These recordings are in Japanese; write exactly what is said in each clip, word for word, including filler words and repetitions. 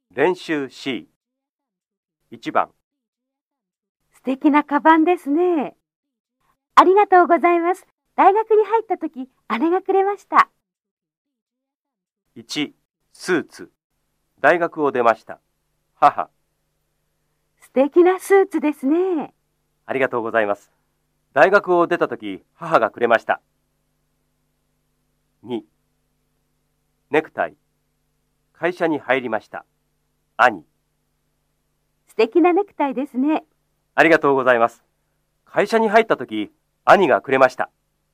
練習 シー。いちばん。 素敵なカバンですね。ありがとうございます。大学に入った時、姉がくれました。 いち、スーツ。大学を出ました。母。 素敵なスーツですね。 ありがとうございます。大学を出た時、母がくれました。に、ネクタイ。会社に入りました。兄。 素敵なネクタイですね。 ありがとうございます。会社に入った時、兄がくれました。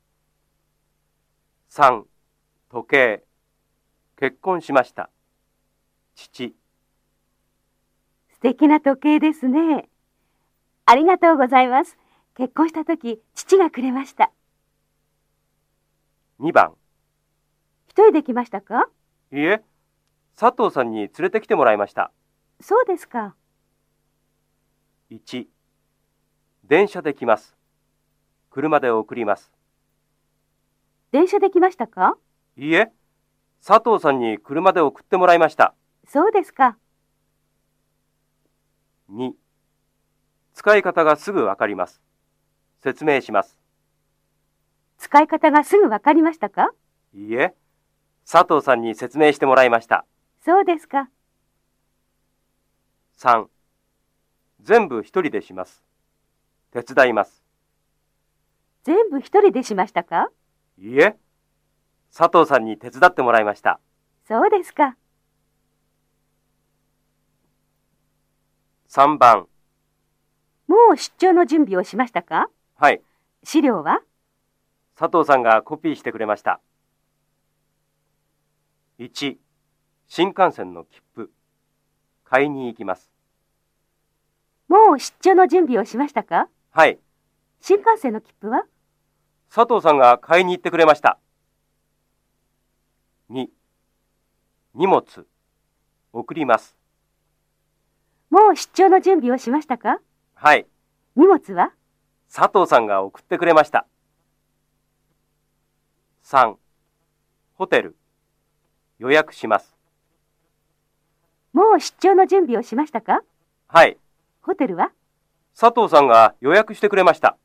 さん、時計。結婚しました。父。 素敵な時計ですね。ありがとうございます。結婚した時、父がくれました。 にばん。 一人で来ましたか？ いいえ、佐藤さんに連れてきてもらいました。 そうですか。 いち、電車で来ます。車で送ります。 電車で来ましたか？ いいえ、佐藤さんに車で送ってもらいました。 そうですか。 に、使い方がすぐわかります。説明します。 使い方がすぐわかりましたか？ いいえ、佐藤さんに説明してもらいました。 そうですか。 さん、全部一人でします。手伝います。 全部一人でしましたか？ いいえ、佐藤さんに手伝ってもらいました。 そうですか。 さんばん。 もう出張の準備をしましたか？ はい。 資料は？ 佐藤さんがコピーしてくれました。いち、新幹線の切符。買いに行きます。 もう出張の準備をしましたか？ はい。 新幹線の切符は？ 佐藤さんが買いに行ってくれました。に、荷物。送ります。 もう出張の準備をしましたか？ はい。 荷物は？ 佐藤さんが送ってくれました。さん、ホテル。予約します。 もう出張の準備をしましたか？ はい。 ホテルは？ 佐藤さんが予約してくれました。